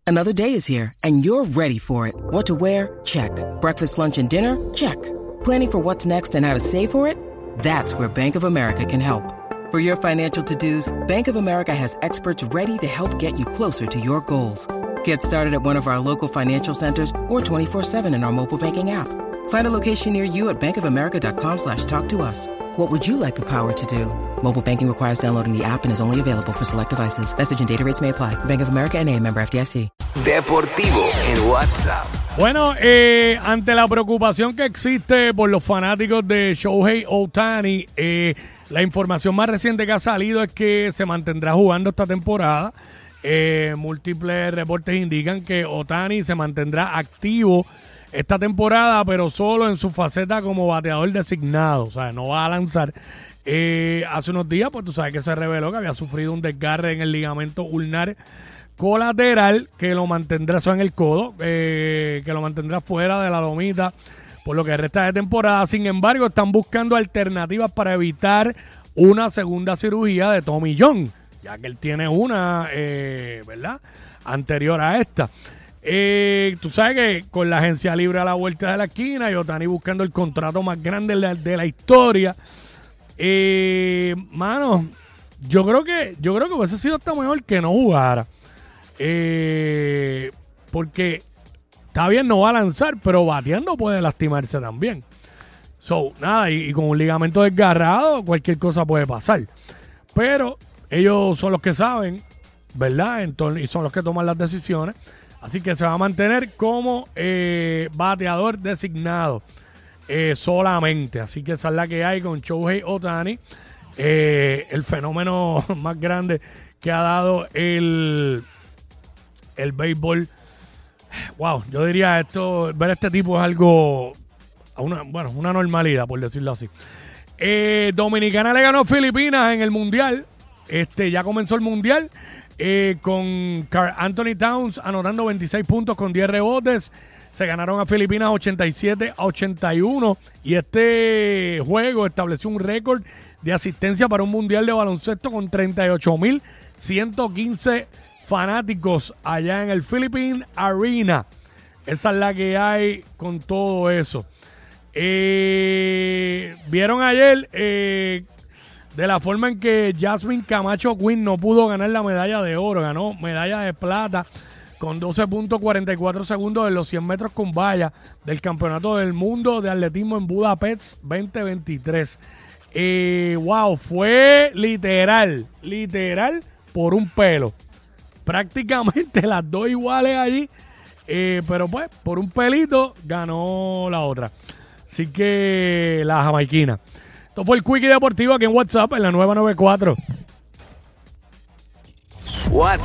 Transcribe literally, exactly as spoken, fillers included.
Another day is here, and you're ready for it. What to wear? Check. Breakfast, lunch, and dinner? Check. Planning for what's next and how to save for it? That's where Bank of America can help. For your financial to-dos, Bank of America has experts ready to help get you closer to your goals. Get started at one of our local financial centers or twenty-four seven in our mobile banking app. Find a location near you at bankofamerica.com slash talk to us. What would you like the power to do? Mobile banking requires downloading the app and is only available for select devices. Message and data rates may apply. Bank of America N A, member F D I C. Deportivo en WhatsApp. Bueno, eh, ante la preocupación que existe por los fanáticos de Shohei Ohtani, eh, la información más reciente que ha salido es que se mantendrá jugando esta temporada. Eh, múltiples reportes indican que Ohtani se mantendrá activo esta temporada, pero solo en su faceta como bateador designado. O sea, no va a lanzar. Eh, hace unos días, pues tú sabes que se reveló que había sufrido un desgarre en el ligamento ulnar colateral que lo mantendrá, eso en el codo, eh, que lo mantendrá fuera de la lomita por lo que resta de temporada. Sin embargo, están buscando alternativas para evitar una segunda cirugía de Tommy John, ya que él tiene una, eh, ¿verdad?, anterior a esta. Eh, tú sabes que con la agencia libre a la vuelta de la esquina y Ohtani buscando el contrato más grande de la, de la historia, eh, mano, yo creo que yo creo que hubiese sido hasta mejor que no jugara. Eh, porque está bien, no va a lanzar, pero bateando puede lastimarse también. So, nada, y, y con un ligamento desgarrado, cualquier cosa puede pasar. Pero ellos son los que saben, ¿verdad? Entonces, y son los que toman las decisiones. Así que se va a mantener como eh, bateador designado eh, solamente. Así que esa es la que hay con Shohei Ohtani, eh, el fenómeno más grande que ha dado el... el béisbol. Wow, yo diría esto, ver a este tipo es algo, una, bueno, una normalidad, por decirlo así. Eh, Dominicana le ganó a Filipinas en el Mundial. Este, ya comenzó el Mundial eh, con Karl Anthony Towns anotando veintiséis puntos con diez rebotes. Se ganaron a Filipinas ochenta y siete a ochenta y uno. Y este juego estableció un récord de asistencia para un Mundial de baloncesto con treinta y ocho mil ciento quince fanáticos allá en el Philippine Arena. Esa es la que hay con todo eso. Eh, Vieron ayer eh, de la forma en que Jasmine Camacho Quinn no pudo ganar la medalla de oro. Ganó medalla de plata con doce punto cuarenta y cuatro segundos en los cien metros con valla del Campeonato del Mundo de Atletismo en Budapest veinte veintitrés. Eh, wow, fue literal, literal por un pelo. Prácticamente las dos iguales allí, eh, pero pues por un pelito ganó la otra. Así que la jamaiquina. Esto fue el Quickie Deportivo aquí en WhatsApp en la nueva noventa y cuatro. WhatsApp